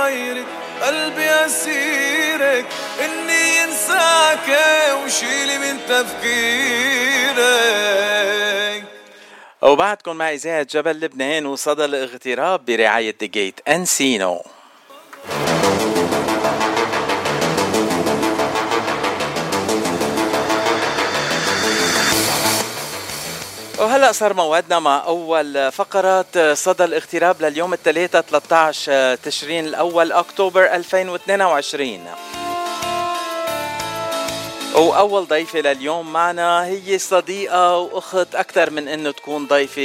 غيرك، قلبي أسيرك، إني إنساك وشيلي من تفكيرك. وبعدكم مع إذاعة جبل لبنان وصدى الاغتراب برعاية The Gate أنسينو. وهلأ صار موعدنا مع أول فقرات صدى الاغتراب لليوم الثلاثاء 13 تشرين الأول أكتوبر 2022. وأول ضيفة لليوم معنا هي صديقة وأخت أكثر من أنه تكون ضيفة.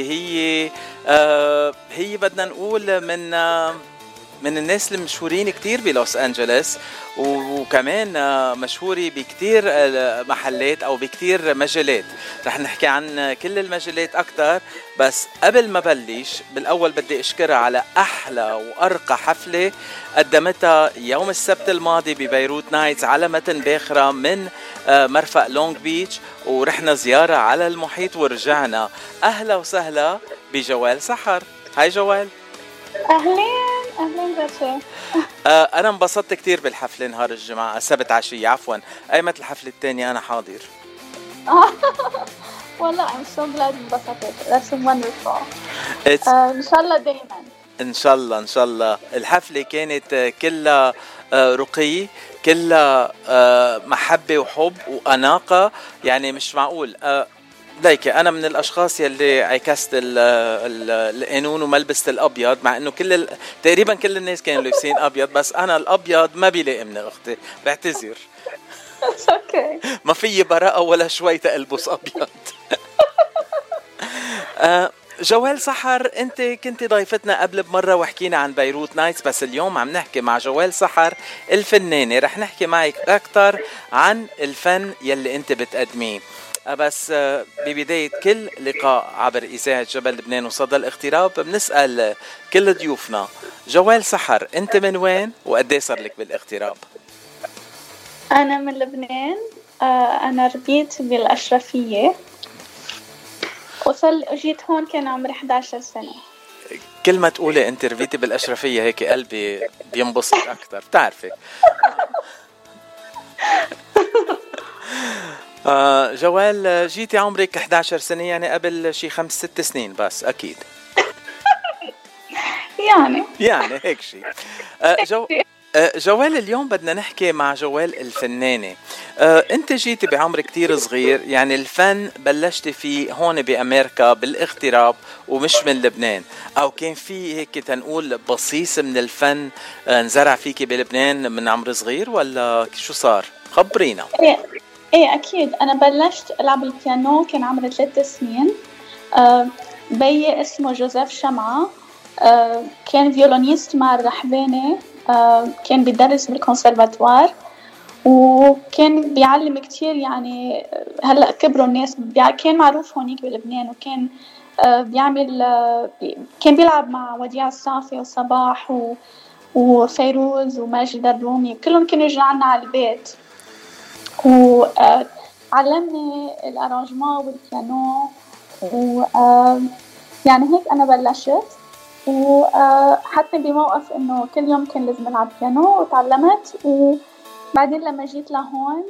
هي بدنا نقول من الناس المشهورين كتير بلوس أنجلس، وكمان مشهورة بكتير محلات أو بكتير مجالات. رح نحكي عن كل المجالات أكتر، بس قبل ما بلش بالأول بدي أشكرها على أحلى وأرقى حفلة قدمتها يوم السبت الماضي ببيروت نايتس على متن باخرة من مرفق لونج بيتش، ورحنا زيارة على المحيط ورجعنا. أهلا وسهلا بجوال سحر. هاي جوال. أهلين باشا. أنا انبسطت كتير بالحفلة نهار الجمعة السبت عشية، عفوا أيمت الحفلة التانية أنا حاضر. والله I'm so glad انبسطت. That's wonderful. إن شاء الله دايما. إن شاء الله. الحفلة كانت كلها رقي، كلها محبة وحب وأناقة، يعني مش معقول. ليكي أنا من الأشخاص يلي عكست القانون وما لبست الأبيض، مع إنه تقريبا كل الناس كانوا لابسين أبيض، بس أنا الأبيض ما بيلاقي من أختي، بعتذر. ما في براءة ولا شوي تلبس أبيض. جوال سحر، أنت كنت ضيفتنا قبل بمرة وحكينا عن بيروت نايتس، بس اليوم عم نحكي مع جوال سحر الفنانة. رح نحكي معك أكتر عن الفن يلي أنت بتقدميه. بس ببداية كل لقاء عبر إذاعة جبل لبنان وصدى الاغتراب بنسأل كل ضيوفنا، جوال سحر أنت من وين وقديه صار لك بالاغتراب؟ أنا من لبنان. أنا ربيت بالأشرفية، جيت هون كان عمري 11 سنة. كل ما تقولي أنت ربيتي بالأشرفية هيك قلبي بينبسط أكتر، بتعرفي. جوال، جيتي عمرك 11 سنة، يعني قبل شي 5-6 سنين بس أكيد. يعني هيك شي. جوال، اليوم بدنا نحكي مع جوال الفنانة. انت جيتي بعمر كتير صغير، يعني الفن بلشتي فيه هون بأمريكا بالاغتراب ومش من لبنان، او كان في هيك تنقول بصيص من الفن نزرع فيكي بلبنان من عمر صغير، ولا شو صار؟ خبرينا. ايه اكيد، انا بلشت العب البيانو كان عمري 3 سنين. بيي اسمه جوزيف شمعة، كان فيولونيست مع الرحباني، كان بيدرس بالكونسرفاتوار وكان بيعلم كتير. يعني هلأ كبروا الناس، كان معروف هونيك بلبنان، وكان كان بيلعب مع وديع الصافي وصباح وفيروز وماجد الرومي، كلهم كانوا يجوا عنا على البيت، وعلمني الارانجمون والبيانو، يعني هيك انا بلشت. وحطني بموقف انه كل يوم كان لازم العب بيانو، وتعلمت. وبعدين لما جيت لهون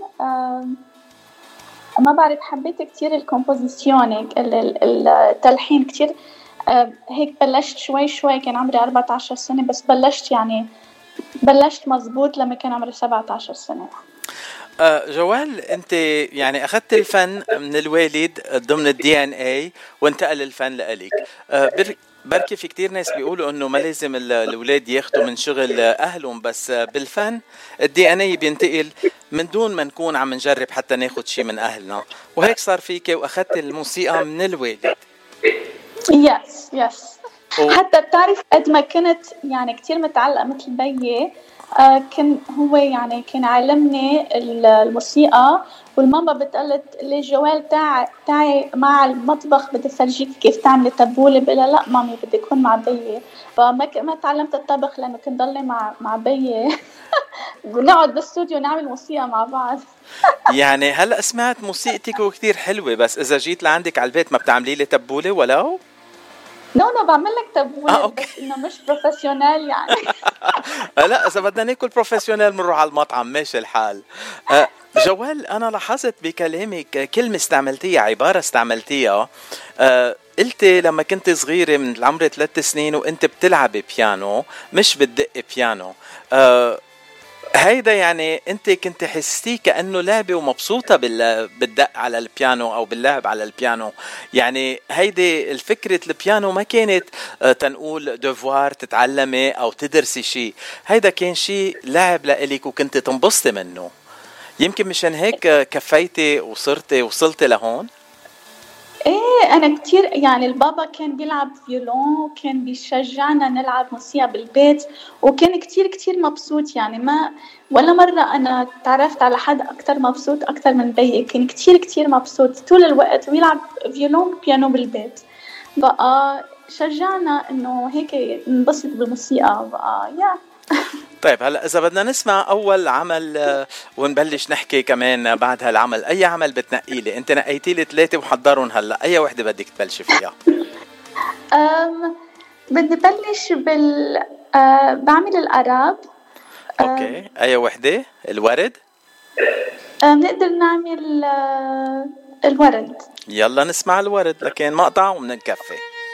ما بعرف، حبيت كتير الكومبوزيسيون، التلحين كتير. هيك بلشت شوي كان عمري 14 سنة، بس بلشت مزبوط لما كان عمري 17 سنة. جوال، انت يعني اخذت الفن من الوالد ضمن DNA وانتقل الفن لإلك. بركي في كتير ناس بيقولوا انه ما لازم الاولاد ياخدوا من شغل اهلهم، بس بالفن DNA بينتقل من دون ما نكون عم نجرب حتى ناخد شيء من اهلنا، وهيك صار فيك واخذت الموسيقى من الوالد. يس حتى بتعرف قد ما كنت يعني كتير متعلقة مثل بيي، كان هو يعني كان علمني الموسيقى. والماما بتقلت لي جوال تعي مع المطبخ، بدي فرجيك كيف تعملي تبولة. بقولها لا مامي بدي أكون مع بيي. فما تعلمت الطبخ لأنه كنت ضلي مع بيي. ونقعد بالاستوديو نعمل موسيقى مع بعض. يعني هلأ سمعت موسيقتك وكتير حلوة، بس إذا جيت لعندك على البيت ما بتعملي لي تبولة ولو؟ نو بعمل لك تبويب أوكي. بس انه مش بروفيشنال يعني. لا اذا بدنا ناكل بروفيشنال بنروح على المطعم، ماشي الحال. جوال، انا لاحظت بكلامك كلمه استعملتيها، عباره استعملتيها، قلتي لما كنت صغيره من العمر 3 سنين وانت بتلعبي بيانو مش بتدق بيانو. هيدا يعني انت كنت حسيتي كأنه لعبة ومبسوطة بالدق على البيانو او باللعب على البيانو. يعني هيدي الفكرة البيانو ما كانت تنقول ديفوار تتعلمي او تدرسي شيء، هيدا كان شيء لعب لإلك وكنت تنبسطي منه. يمكن مشان هيك كفيتي وصلتي لهون. ايه انا كتير يعني البابا كان بيلعب فيولون وكان بيشجعنا نلعب موسيقى بالبيت، وكان كتير مبسوط يعني. ما ولا مرة انا تعرفت على حد اكتر مبسوط اكتر من بيي، كان كتير مبسوط طول الوقت ويلعب فيولون وبيانو بالبيت. بقى شجعنا انه هيك ننبسط بالموسيقى بقى طيب هلا اذا بدنا نسمع اول عمل ونبلش نحكي كمان بعد هالعمل، اي عمل بتنقي لي؟ انت نقيتي لي 3 وحضرهم، هلا اي وحده بدك تبلشي فيها؟ بدي بلش بعمل الأراب. اوكي، اي وحده؟ الورد؟ بنقدر نعمل الورد. يلا نسمع الورد، لكن مقطع ومنكفي.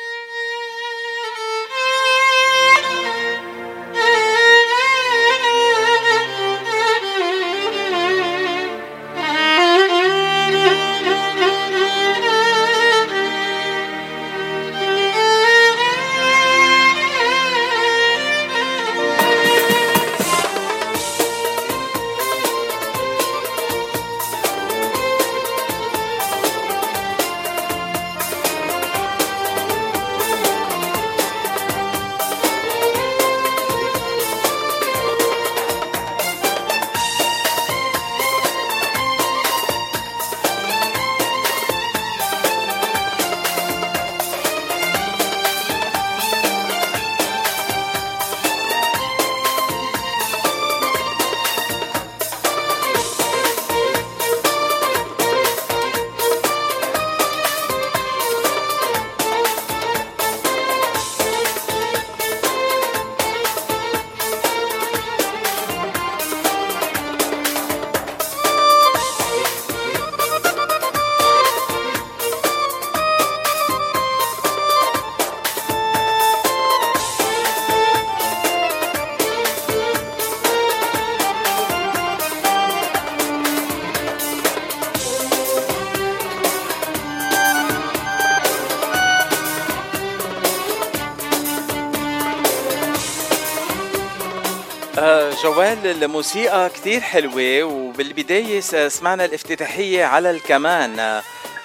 جوال، الموسيقى كتير حلوة، وبالبداية سمعنا الافتتاحية على الكمان.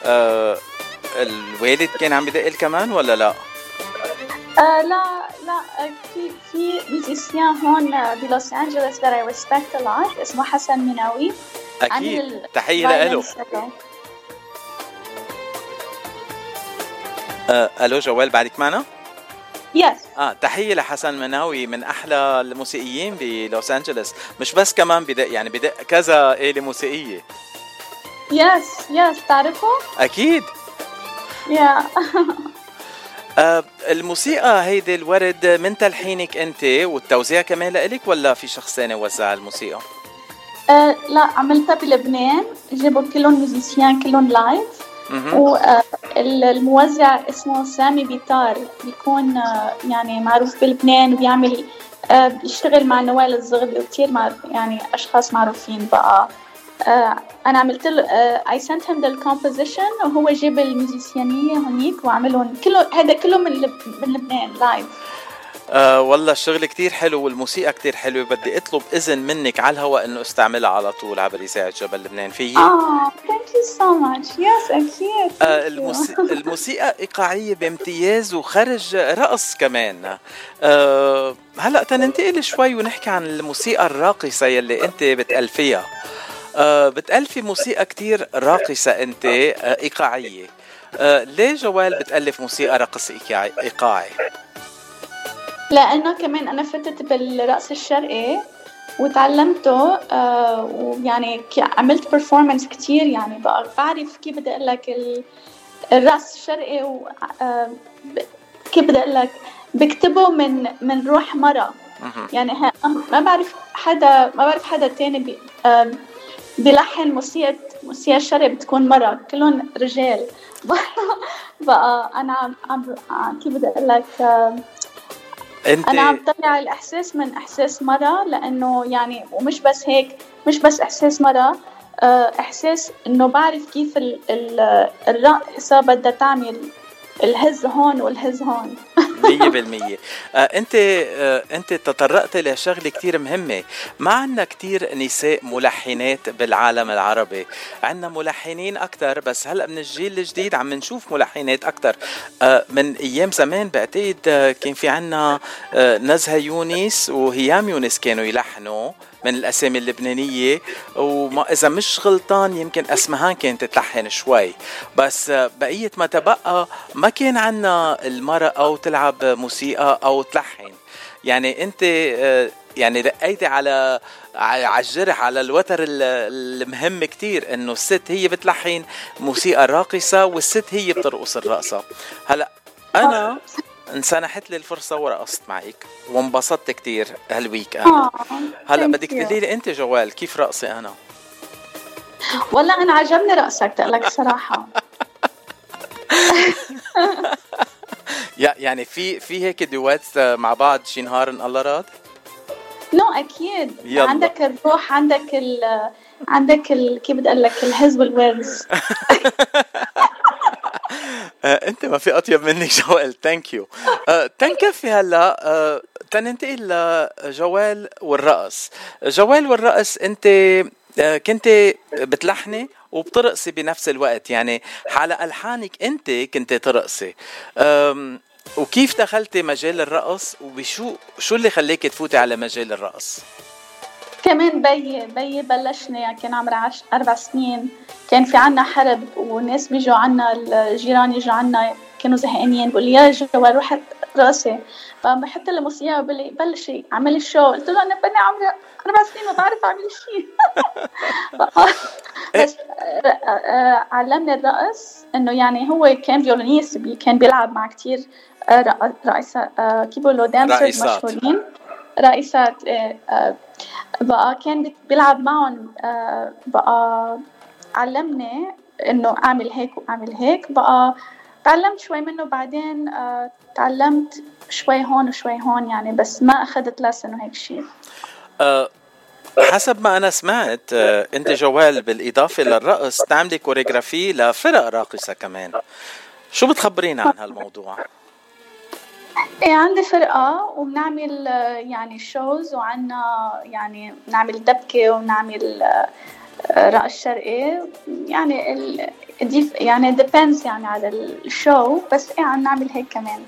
الوالد كان عم بدق الكمان ولا لا؟ لا في ميوزيسيان هون بلوس أنجلوس that I respect a lot اسمه حسن مناوي. أكيد، تحية لإله. ألو جوال، بعدك معنا؟ Yes. تحية لحسن مناوي، من أحلى الموسيقيين بلوس أنجلوس، مش بس كمان بدق، يعني بدق كذا آلة موسيقية. Yes تعرفه؟ أكيد. الموسيقى هيدي الورد من تلحينك أنت والتوزيع كمان لإلك، ولا في شخص ثاني وزع الموسيقى؟ لا، عملتها بلبنان، جابوا كلهم ميوزيسيان كلهم لايف، والموزع اسمه سامي بيطار، بيكون يعني معروف بلبنان وبيعمل بيشتغل مع نوال الزغبي وكتير يعني أشخاص معروفين. بقى أنا عملت له I sent him the composition، وهو جاب الميوزيسيانية هونيك وعملهم كله من لبنان لايف. والله الشغل كتير حلو والموسيقى كتير حلوة. بدي اطلب اذن منك على الهواء انه استعملها على طول عبر اذاعة جبل لبنان، فيي؟ thank you so much. yes اكيد. الموسيقى ايقاعية بامتياز وخرج رقص كمان. هلا تننتقل شوي ونحكي عن الموسيقى الراقصة يلي انت بتألفيها. بتألفي موسيقى كتير راقصة انت، ايقاعية. ليه جوال بتألف موسيقى رقص ايقاعي؟ لأنه كمان أنا فتت بالرقص الشرقي وتعلمته، ويعني عملت performance كتير، يعني بقى بعرف كيف بدي أقول لك الرقص الشرقي كيف بدي اقول لك، بكتبه من روح مرة. يعني ما بعرف حدا تاني بيلحن موسيقى الشرق بتكون مرة، كلهم رجال. بقى انا عم كيف بدي اقول لك، انا عم طلع الاحساس من احساس مرة، لانه يعني ومش بس هيك، مش بس احساس مرة، احساس انه بعرف كيف الرقصة بدها تعمل الهز هون والهز هون. 100%. انت تطرقت لشغله كتير مهمه. ما عندنا كتير نساء ملحنات بالعالم العربي، عندنا ملحنين اكتر، بس هلا من الجيل الجديد عم نشوف ملحنات اكتر. من ايام زمان بعتقد كان في عندنا نزهة يونس وهيام يونس كانوا يلحنوا من الأسامي اللبنانية، وما إذا مش غلطان يمكن أسمهان كانت تلحن شوي، بس بقية ما تبقى ما كان عنا المرأة أو تلعب موسيقى أو تلحن. يعني أنت يعني دقيتي على الجرح، على الوتر المهم كتير، إنه الست هي بتلحن موسيقى راقصة والست هي بترقص الرقصة. هلأ أنا انسنحت لي الفرصة ورقصت معك وانبسطت كتير هالويك اند. هلا بدك تقولي لي انت جوال كيف رقصي انا؟ والله انا عجبني رقصك تقلك صراحة. يعني في هيك دوات مع بعض شي نهار ان الله راد؟ اكيد يلا. عندك الروح، عندك كيف بدي اقول لك، الهز والورز. انت ما في اطيب منك جوال. ثانك يو. تنكفي هلا تننتقل لجوال والرقص. جوال والرقص، انت كنت بتلحني وبترقصي بنفس الوقت، يعني على الحانك انت كنت ترقصي. وكيف دخلتي مجال الرقص، وبشو اللي خليك تفوتي على مجال الرقص؟ كمان بيي بلشني يعني كان عمري 4 سنين، كان في عنا حرب وناس بيجوا عنا، الجيران يجوا عنا كانوا زهقانين، بقول لي يا جوال روح رقصي، فبحط له موسيقى وبقول لي بلشي اعملي الشو. قلت له انا بني عمري 4 سنين ما بعرف اعمل شيء. بس علمني الرقص، انه يعني هو كان فيولونيست، كان بيلعب مع كتير رئيسة كيف بيقولوا دانسرز مشهورين، رئيسات. بقى كان بيلعب معهم، بقى علمني انه اعمل هيك واعمل هيك. بقى تعلمت شوي منه، بعدين تعلمت شوي هون وشوي هون يعني، بس ما اخذت لسن وهيك شيء. حسب ما انا سمعت انت جوال بالاضافه للرقص تعملي كوريغرافي لفرق راقصه كمان، شو بتخبرينا عن هالموضوع؟ ايه عندي فرقة وبنعمل يعني شوز، وعنا يعني نعمل دبكة ونعمل رقص شرقي، يعني يعني depends يعني على الشو، بس ايه عم نعمل هيك كمان.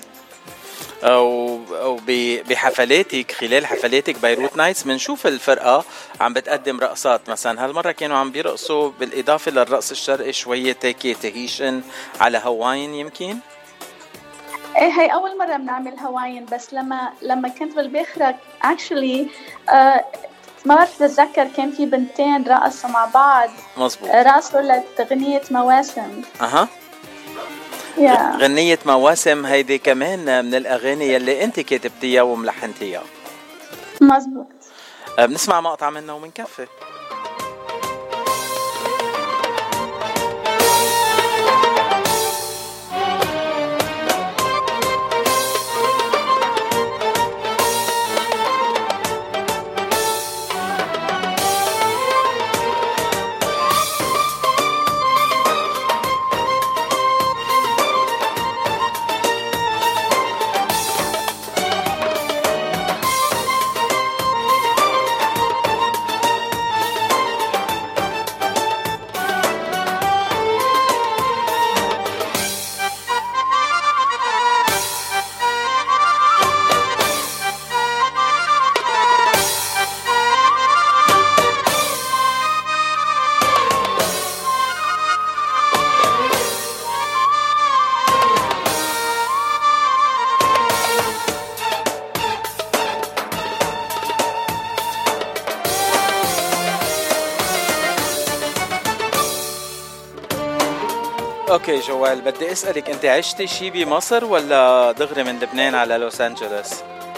أو بحفلاتك، خلال حفلاتك بيروت نايتس بنشوف الفرقة عم بتقدم رقصات، مثلا هالمرة كانوا عم بيرقصوا بالإضافة للرقص الشرقي شوية تيكي تهيشن على هواين يمكن. ايه هي اول مرة بنعمل هواين، بس لما كنت بالباخرة actually ما بعرف اتذكر، كان في بنتين رقصوا مع بعض. مظبوط. رقصوا لغنية مواسم. غنية مواسم هيدي كمان من الأغاني اللي أنت كتبتيها وملحنتيها. مظبوط. بنسمع مقطع منها ومنكفي. اوكي جوال، بدي اسألك انت عشتي شي بمصر ولا دغري من لبنان على لوس أنجلوس؟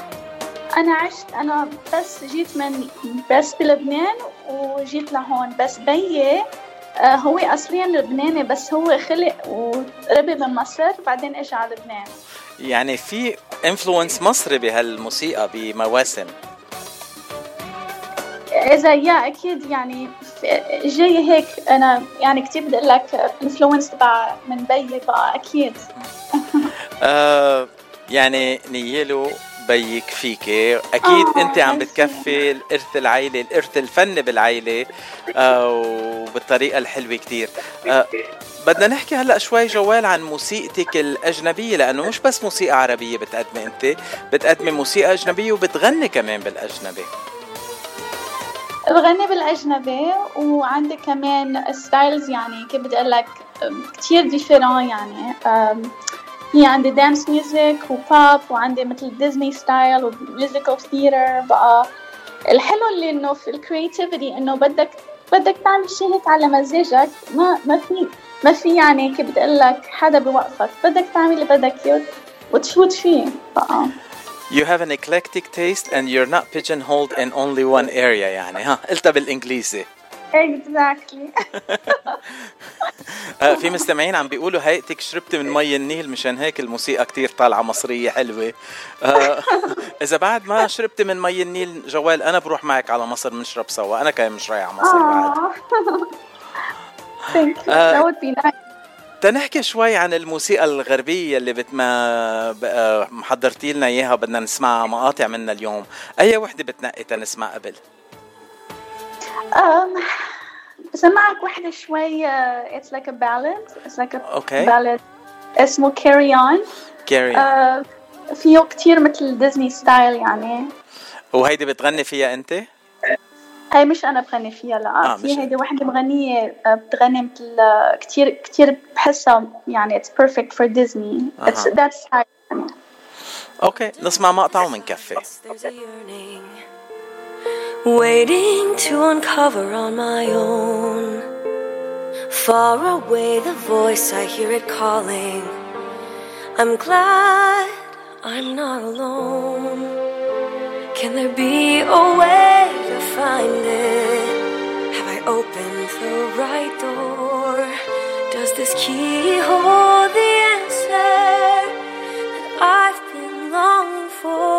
أنا بس جيت بس بلبنان وجيت لهون. بس بيي هو أصليا لبناني، بس هو خلق وربي من مصر بعدين إجا على لبنان. يعني في انفلونس مصري بهالموسيقى بمواسم؟ إذا أكيد يعني جاي هيك. أنا يعني كتير بدي أقول لك انفلونس تبع من بيي بقى أكيد. يعني نيلو بيك فيكي أكيد. أنت عم بتكفي الإرث العائلي، الإرث الفني بالعائلة وبالطريقة الحلوة كتير. بدنا نحكي هلأ شوي جوال عن موسيقتك الأجنبية، لأنه مش بس موسيقى عربية بتقدمي، أنت بتقدمي موسيقى أجنبية وبتغني كمان بالأجنبي. بغني بالأجنبي وعندي كمان ستايلز، يعني كيف بدي أقول لك كتير ديفيرون. يعني هي عندي دانس ميوزك وبوب، وعندي مثل ديزني ستايل وميوزيكال ثياتر. بقى الحلو اللي إنه في الكرياتيفيتي إنه بدك تعمل شيء هيك على مزاجك. ما في يعني كيف بدي أقول لك حدا بوقفك، بدك تعمل اللي بدك إياه وتفوت فيه بقى. You have an eclectic taste and you're not pigeonholed in only one area. يعني قلتها بالإنجليزي. Exactly. في مستمعين عم بيقولوا هيئتك شربت من مي النيل، مشان هيك الموسيقى كتير طالعة مصرية حلوة. إذا بعد ما شربت من مي النيل جوال، أنا بروح معك على مصر بنشرب سوا. أنا كمان مش رايح على مصر بعد. Thank you. That would be nice. تنحكي شوي عن الموسيقى الغربية اللي محضرتي لنا إياها، بدنا نسمع مقاطع منها اليوم. أي وحدة بتنقي تنسمع قبل؟ بسمعك وحدة شوي. It's like a ballad. It's like a okay. ballad. اسمه Carry On. فيه كتير مثل ديزني ستايل يعني. وهيدي بتغني فيها أنت؟ هاي مش أنا بغني فيها، لا. في هيدي واحدة مغنية بتغني مثل كتير بحسها يعني it's perfect for Disney. That's style. أوكي، نسمع مقطع ومنكفي. Waiting to uncover on my own. Far away the voice, I hear it calling. I'm glad I'm not alone. Can there be a way to find it? Have I opened the right door? Does this key hold the answer that I've been longing for?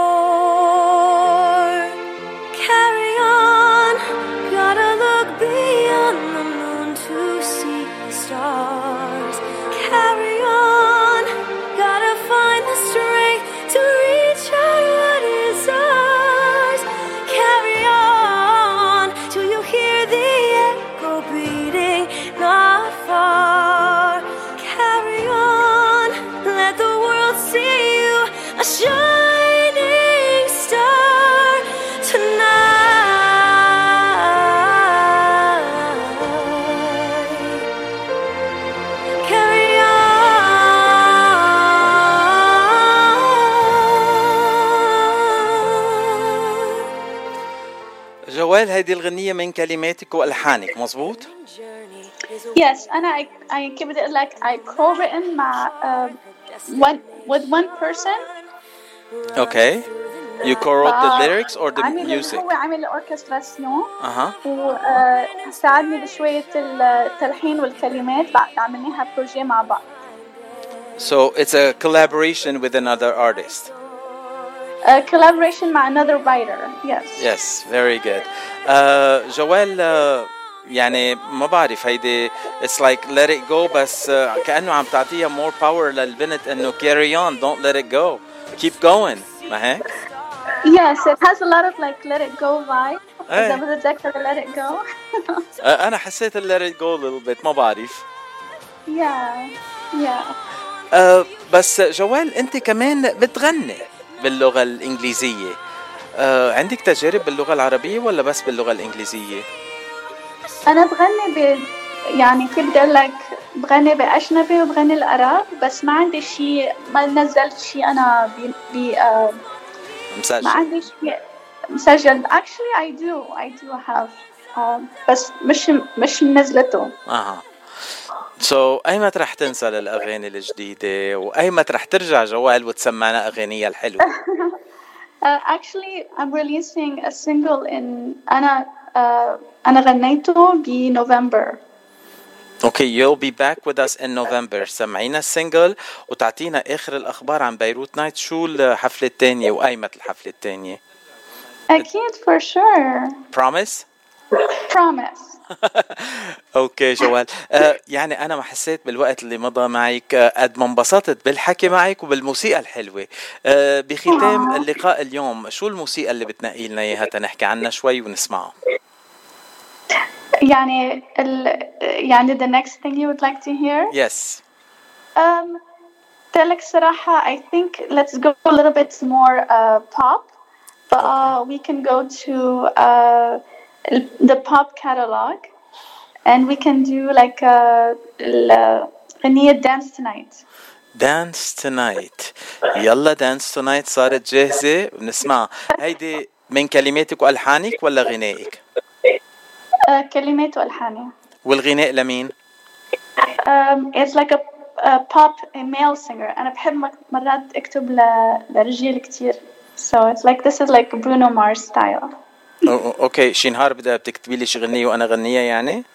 Carry on, gotta look beyond the moon to see the stars. Carry on, gotta find the strength to reach out what is ours. Carry on, till you hear the echo beating not far. Carry on, let the world see you a shining star tonight. Carry on. جوال، هيدي الغنية من كلماتك وألحانك مزبوط؟ Yes, أنا كيف بدي أقول لك I co-written مع with one person. Okay. You co-wrote the lyrics or the music? هو عامل الأوركستراسيون. وساعدني بشوية التلحين والكلمات. عملناها بروجي مع بعض. So it's a collaboration with another artist. A collaboration مع another writer. Yes. Yes, very good. جوال، يعني ما بعرف هيدي it's like let it go، بس كأنه عم تعطيها more power للبنت إنه carry on, don't let it go, keep going. ما هيك؟ Yes, it has a lot of like let it go vibe. إذا بدك let it go. أنا حسيت let it go a little bit، ما بعرف. Yeah. بس جوال، أنت كمان بتغني باللغة الإنجليزية. عندك تجارب باللغة العربية ولا بس باللغة الإنجليزية؟ أنا بغني يعني كيف بدي أقول لك، بغني بأجنبي وبغني العرب، بس ما عندي شيء، ما نزلت شيء أنا مسجل. ما عندي شيء مسجل. Actually I do have بس مش نزلته. أيمت رح تنسى للأغاني الجديدة وأيمت رح ترجع جوال وتسمعنا أغانيها الحلوة؟ Actually, I'm releasing a single in أنا غنيته بنوفمبر. Okay, you'll be back with us in November. سمعينا السنجل وتعطينا آخر الأخبار عن بيروت نايت. شو الحفلة التانية وأيمت الحفلة التانية؟ أكيد for sure. Promise? Promise. اوكي جوال. يعني انا ما حسيت بالوقت اللي مضى معك قد ما انبسطت بالحكي معك وبالموسيقى الحلوه. بختام اللقاء اليوم شو الموسيقى اللي بتنقي لنا اياها تنحكي عنها شوي ونسمعها؟ يعني the next thing you would like to hear? Yes. تلك صراحة I think let's go a little bit more pop, but we can go to the pop catalog and we can do like غنية Dance Tonight. Dance Tonight. يلا Dance Tonight صارت جاهزة ونسمع. هيدي من كلماتك وألحانك ولا غنائك؟ كلمات وألحاني. والغناء لمين؟ It's like a pop male singer. أنا بحب مرات أكتب لرجال كتير. So it's like this is like Bruno Mars style. اوكي شي نهار بدها بتكتبي لي شي غنية وانا غنية يعني؟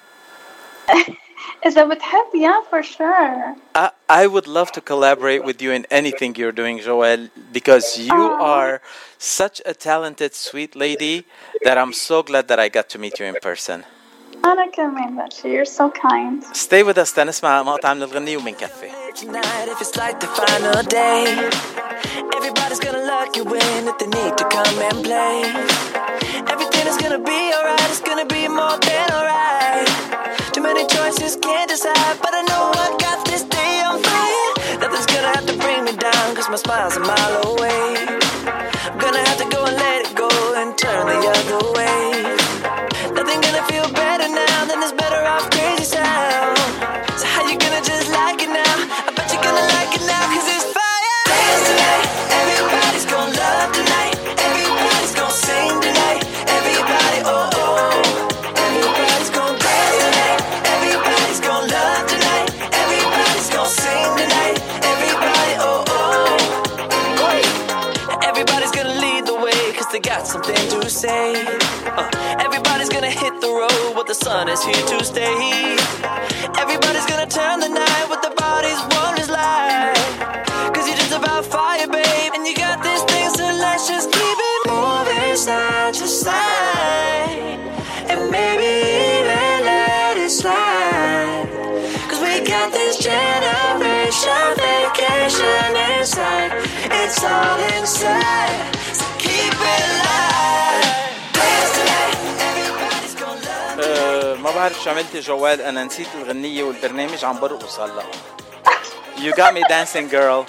إذا بتحب yeah for sure. I would love to collaborate with you in anything you're doing, Joelle, because you are such a talented, sweet lady that I'm so glad that I got to meet you in person. أنا كمان باشا. You're so kind. Stay with us تنسمع مقطع من الغنية ومنكفي. If it's like the final day, everybody's gonna lock you in if they need to come and play. Everything is gonna be alright, it's gonna be more than alright. Too many choices, can't decide, but I know I got this day on fire. Nothing's gonna have to bring me down, cause my smile's a mile away. I'm gonna have to go and let it go and turn the other way. Nothing gonna feel better now than this better off crazy sound. So how you gonna just like it now? I bet you're gonna like it now, cause it's fire. Dance tonight, everybody's gonna love tonight. Everybody's gonna sing tonight. Everybody, oh oh. Everybody's gonna dance tonight. Everybody's gonna love tonight. Everybody's gonna sing tonight. Everybody, oh oh. Everybody's gonna lead the way, cause they got something to say. Everybody's gonna hit the road, but the sun is here to stay. Everybody's gonna turn the night with their bodies warm as light. Cause you're just about fire, babe. And you got these things, so let's just keep it moving side to side. And maybe even let it slide. Cause we got this generation vacation inside. It's all inside. So keep it alive. Dance tonight. Everybody's gonna love. ما بعرف شو عملتي جوال. أنا نسيت الغنية والبرنامج عم برقص هلا. You got me dancing, girl.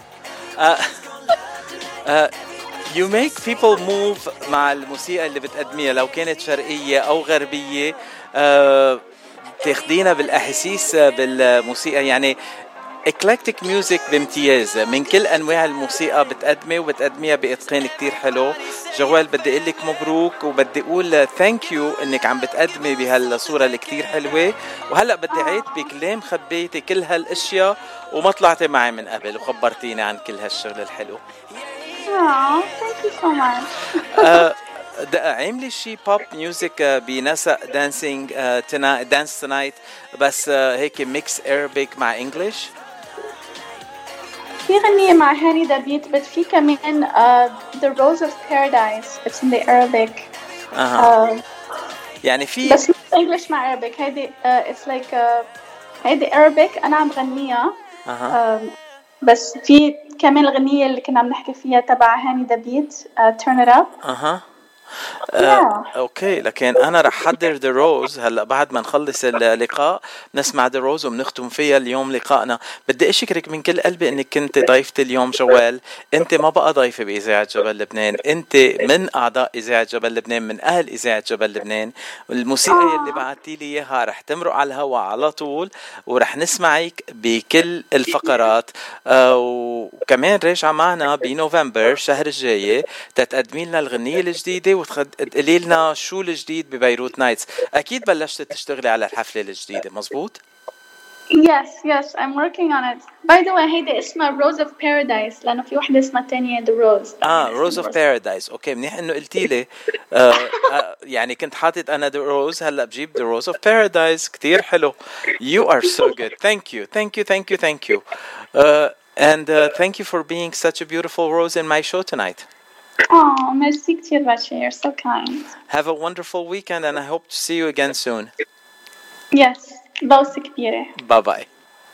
You make people move مع الموسيقى اللي بتقدميها لو كانت شرقية أو غربية. تاخدينا بالأحاسيس بالموسيقى يعني eclectic music بامتياز من كل أنواع الموسيقى بتقدمي وبتقدميها بإتقان كتير حلو. جوال بدي أقول لك مبروك وبدي أقول thank you إنك عم بتقدمي بهالصورة اللي كتير حلوة. وهلأ بدي عيد بكلام خبيتي كل هالأشياء وما طلعتي معي من قبل وخبرتيني عن كل هالشغل الحلو. Thank you so much. عاملي شي بوب ميوزك بنسق دانسينج دانس تنايت بس هيك ميكس Arabic مع انجلش. في غنية مع هاني دابيت بس في كمان The Rose of Paradise. It's in the Arabic. يعني في بس English مع Arabic. هيدي it's like هيدي Arabic أنا عم غنيها. بس في كمان الغنية اللي كنا عم نحكي فيها تبع هاني دابيت Turn It Up. اوكي لكن انا رح حضر ذا روز هلا بعد ما نخلص اللقاء نسمع ذا روز وبنختم فيها اليوم لقائنا. بدي اشكرك من كل قلبي انك كنت ضيفتي اليوم جوال. انت ما بقى ضيفه باذاعه جبل لبنان، انت من اعضاء اذاعه جبل لبنان، من اهل اذاعه جبل لبنان. والموسيقى اللي بعتي لي اياها رح تمرق على الهواء على طول ورح نسمعك بكل الفقرات. وكمان راجعه معنا بنوفمبر الشهر الجاي تتقدمي لنا الغنيه الجديده وتقولي لنا شو الجديد ببيروت نايتس. اكيد بلشت تشتغلي على الحفله الجديده مزبوط؟ Yes, I'm working on it. By the way, هيدي اسمها Rose of Paradise لأنه في وحدة اسمها تانية The Rose. Rose of Paradise. اوكي منيح انه قلتي لي. يعني كنت حاطط انا The Rose هلا بجيب The Rose of Paradise. كتير حلو. You are so good. Thank you. And thank you for being such a beautiful rose in my show tonight. Oh, merci كتير باشا. You're so kind. Have a wonderful weekend and I hope to see you again soon. Yes. بوسة كبيرة. Bye bye.